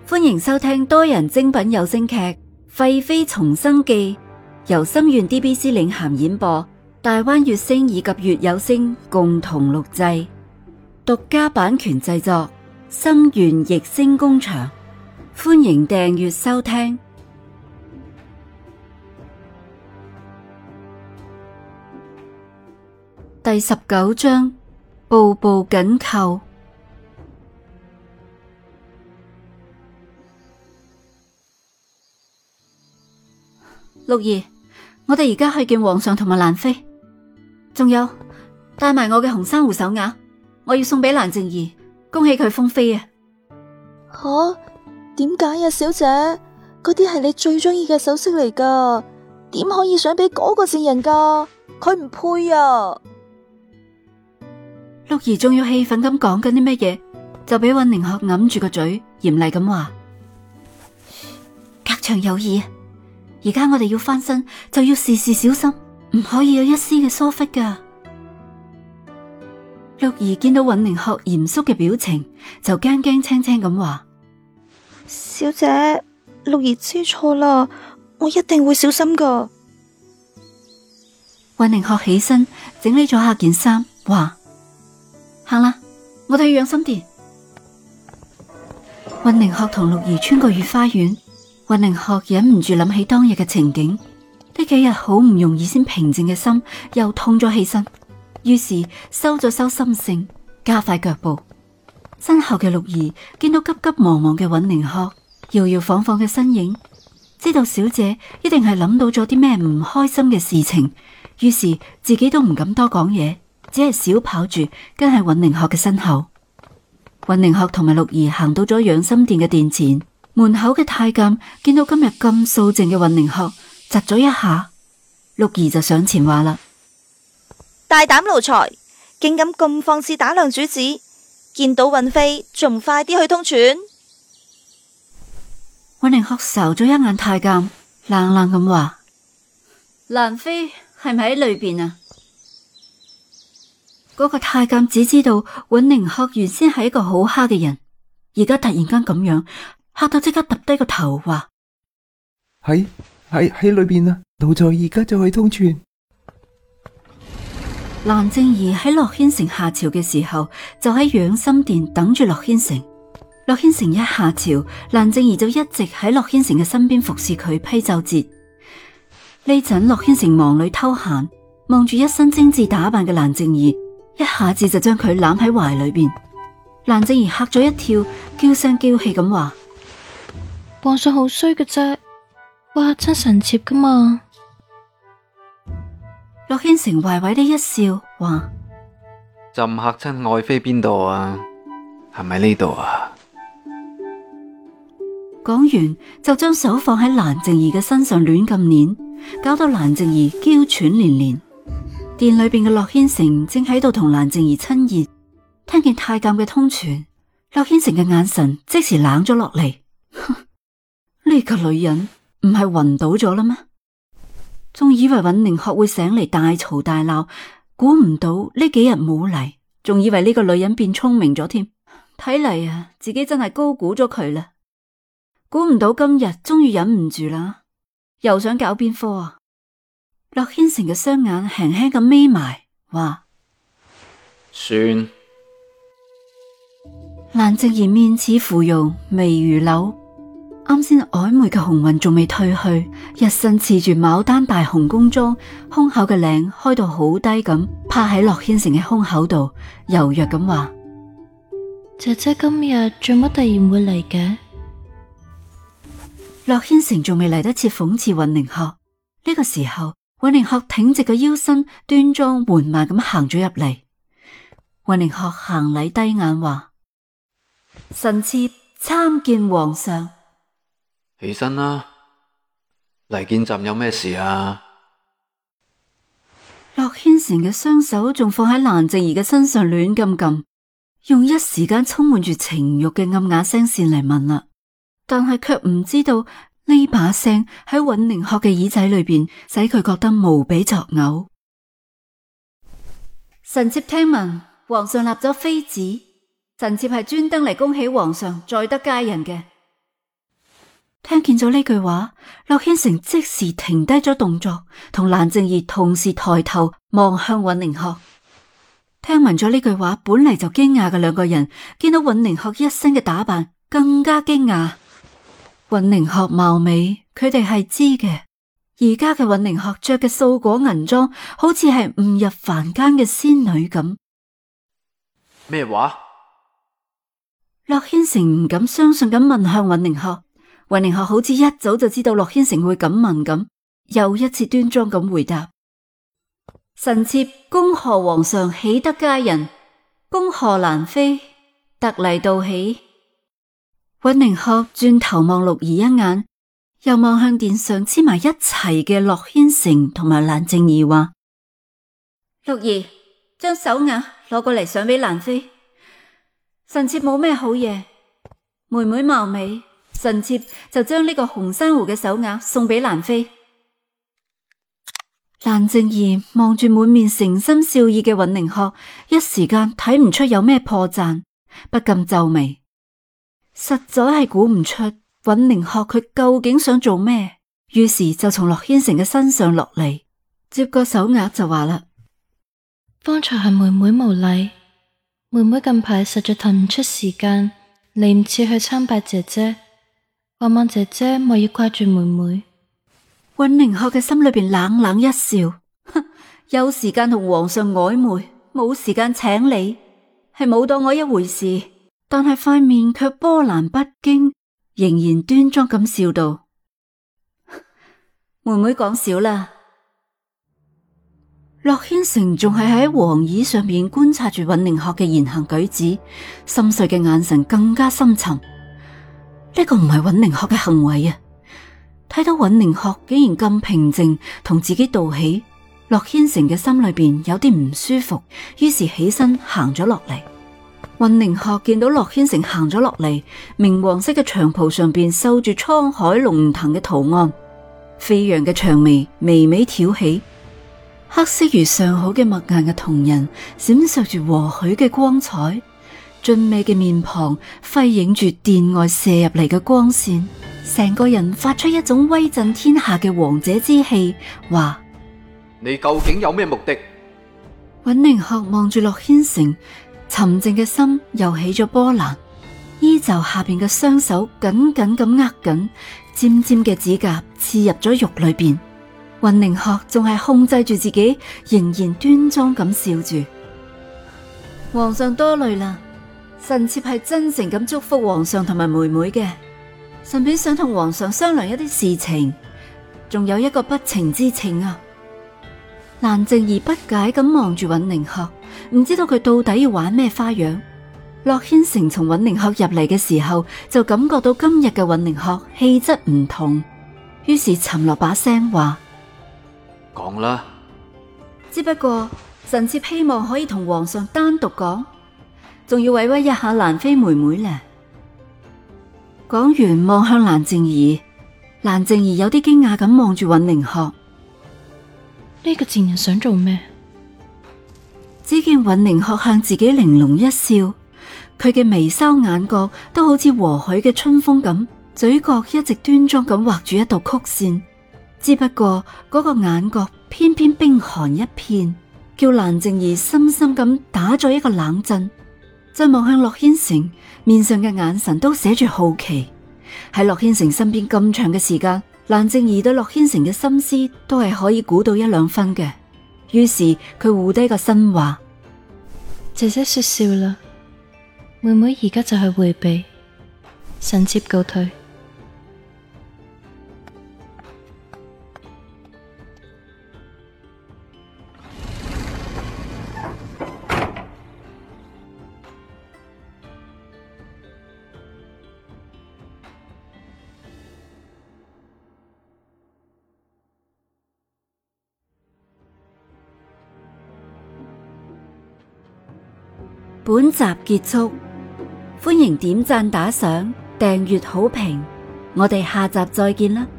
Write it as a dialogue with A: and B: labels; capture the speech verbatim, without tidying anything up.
A: 歡迎收聽多人精品有聲劇《廢妃重生記》，由心願 D B C 領銜演播，大灣月星以及月有聲共同錄製，獨家版權製作，心願逸聲工場。歡迎訂閱收聽。第十九章，步步緊扣。六兒，我哋而家去見皇上同埋蘭妃，仲有帶埋我嘅紅珊瑚手鐲，我要送俾蘭靜儀，恭喜佢封妃啊！
B: 吓？點解啊，小姐？嗰啲係你最中意嘅首飾嚟噶，點可以想俾嗰個賤人噶？佢唔配啊！
A: 六兒仲要氣憤咁講緊啲咩嘢，就俾尹寧鶴揞住個嘴，嚴厲咁話：隔牆有耳。而家我哋要翻身，就要事事小心，唔可以有一絲嘅疏忽噶。六兒見到尹寧鶴嚴肅嘅表情，就驚驚青青咁話：
B: 小姐，六兒知錯啦，我一定會小心噶。
A: 尹寧鶴起身整理咗下件衫，話：行啦，我哋去養心殿。尹寧鶴同六兒穿過御花園。尹寧鶴忍唔住諗起當日嘅情景，呢幾日好唔容易先平靜嘅心又痛咗起身，於是收咗收心性，加快腳步。身後嘅六兒見到急急忙忙嘅尹寧鶴，搖搖晃晃嘅身影，知道小姐一定係諗到咗啲咩唔開心嘅事情，於是自己都唔敢多講嘢，只係小跑住跟喺尹寧鶴嘅身後。尹寧鶴同埋六兒行到咗養心殿嘅殿前。門口嘅太監見到今日咁素靜嘅尹寧鶴，窒咗一下。六兒就上前話啦：
B: 大膽奴才，竟敢咁放肆打量主子，見到尹妃仲唔快啲去通傳？
A: 尹寧鶴睄咗一眼太監，冷冷咁話：蘭妃係咪喺裏邊啊？嗰個太監只知道尹寧鶴原先係一個好蝦嘅人，而家突然間咁樣。嚇到即刻揼低個頭，話：
C: 喺喺喺裏邊啊！奴才而家就去通傳。
A: 蘭靜儀喺洛軒城下朝嘅時候，就喺養心殿等住洛軒城。洛軒城一下朝，蘭靜儀就一直喺洛軒城嘅身邊服侍佢批奏折。呢陣洛軒城忙裏偷閒，望住一身精緻打扮嘅蘭靜儀，一下子就將佢攬喺懷裏邊。蘭靜儀嚇咗一跳，嬌聲嬌氣咁話：
B: 皇上好衰嘅啫，哇真臣妾噶嘛。
A: 洛軒成壞壞地一笑，話：
D: 朕嚇親愛妃邊度啊？係咪呢度啊？
A: 講完就將手放喺蘭靜儀嘅身上亂咁捻，搞到蘭靜儀嬌喘連連。殿裏邊嘅洛軒成正喺度同蘭靜儀親熱，聽見太監嘅通傳，洛軒成嘅眼神即時冷咗落嚟。呢個女人唔係暈倒咗啦咩？仲以為尹寧鶴會醒嚟大嘈大鬧，估唔到呢幾日冇嚟，仲以為呢個女人變聰明咗添。睇嚟啊，自己真係高估咗佢啦。估唔到今日終於忍唔住啦，又想搞邊科啊？洛軒成嘅雙眼輕輕咁眯埋，話：
D: 算。
A: 蘭靜儀面似芙蓉，眉如柳。啱先曖昧嘅紅暈仲未褪去，一身刺住牡丹大紅宮裝，胸口嘅領開到好低咁，趴喺洛軒成嘅胸口度，柔弱咁話：
B: 姐姐今日做乜突然會嚟嘅？
A: 洛軒成仲未嚟得切諷刺尹寧鶴，呢個時候尹寧鶴挺直個腰身，端莊緩慢咁行咗入嚟。尹寧鶴行禮低眼話：臣妾參見皇上。
D: 起身啦，嚟見朕有咩事啊？
A: 洛軒成嘅雙手仲放喺蘭靜儀嘅身上亂咁撳，用一時間充滿住情欲嘅暗啞聲線嚟問啦，但係卻唔知道呢把聲喺尹寧鶴嘅耳仔裏邊，使佢覺得無比作嘔。臣妾聽聞皇上立咗妃子，臣妾係專登嚟恭喜皇上再得佳人嘅。 聽見咗呢句話，駱軒成即時停低咗動作，同蘭靜儀同時抬頭望向尹寧鶴。聽聞咗呢句話，本嚟就驚訝嘅兩個人，見到尹寧鶴一身嘅打扮，更加驚訝。尹寧鶴貌美，佢哋係知嘅。而家嘅尹寧鶴着嘅素果銀裝，好似係誤入凡間嘅仙女咁。
D: 咩話？
A: 駱軒成唔敢相信咁問向尹寧鶴。尹寧鶴好似一早就知道駱軒成會咁問咁，又一次端莊咁回答：臣妾恭賀皇上喜得佳人，恭賀蘭妃特嚟道喜。尹寧鶴轉頭望六兒一眼，又望向殿上黐埋一齊嘅駱軒成同埋蘭靜儀話：六兒，將手鐲攞過嚟上俾蘭妃。臣妾冇咩好嘢，妹妹貌美，臣妾就將呢個紅珊瑚嘅手鐲送俾蘭妃。蘭靜儀望住滿面誠心笑意嘅尹寧鶴，一時間睇唔出有咩破綻，不禁皺眉，實在係估唔出尹寧鶴佢究竟想做咩，於是就從駱軒成嘅身上落嚟，接過手鐲就話啦：
E: 方才係妹妹無禮。妹妹近排實在騰唔出時間，嚟唔切去參拜姐姐，盼望姐姐莫要掛住妹妹。
A: 尹寧鶴嘅心裏邊冷冷一笑，哼，有時間同皇上曖昧，冇時間請你，係冇當我一回事。但係塊面卻波瀾不驚，仍然端莊咁笑道：妹妹講笑啦。駱軒成仲係喺黃椅上邊觀察住尹寧鶴嘅言行舉止，深邃嘅眼神更加深沉。呢個唔係尹寧鶴嘅行為啊！睇到尹寧鶴竟然咁平靜同自己道喜，駱軒成嘅心裏邊有啲唔舒服，於是起身行咗落嚟。尹寧鶴見到駱軒成行咗落嚟，明黃色嘅長袍上邊繡住滄海龍騰嘅圖案，飛揚嘅長眉微微挑起。黑色如上好嘅墨顏嘅瞳仁，閃爍住和煦嘅光彩，俊美嘅面龐輝映住殿外射入嚟嘅光線，成個人發出一種威震天下嘅王者之氣。話：
D: 你究竟有咩目的？
A: 尹寧鶴望住駱軒成，沉靜嘅心又起咗波瀾，衣袖下邊嘅雙手緊緊咁握緊，尖尖嘅指甲刺入咗肉裏邊。尹寧鶴仲係控制住自己，仍然端莊咁笑住。皇上多慮啦，臣妾係真誠咁祝福皇上同埋妹妹嘅，順便想同皇上商量一啲事情，仲有一個不情之請啊。蘭靜兒不解咁望住尹寧鶴，唔知道佢到底要玩咩花樣。駱軒成從尹寧鶴入嚟嘅時候，就感覺到今日嘅尹寧鶴氣質唔同，於是沉落把聲話：
D: 講啦，
A: 只不過臣妾希望可以同皇上單獨講，仲要委屈一下蘭妃妹妹呢。講完望向蘭靜儀，蘭靜儀有啲驚訝咁望住尹寧鶴，
E: 呢個賤人想做咩？
A: 只見尹寧鶴向自己玲瓏一笑，佢嘅眉梢眼角都好似和煦嘅春風咁，嘴角一直端莊咁畫住一道曲線。只不過嗰個眼角偏偏冰寒一片，叫蘭靜儀深深咁打咗一個冷震。再望向駱軒成，面上嘅眼神都寫住好奇。喺駱軒成身邊咁長嘅時間，蘭靜儀對駱軒成嘅心思都係可以估到一兩分嘅。於是佢護低個身話：
E: 姐姐說笑啦，妹妹而家就去回避，臣妾告退。
A: 本集結束，歡迎點讚打賞、訂閱好評，我哋下集再見啦！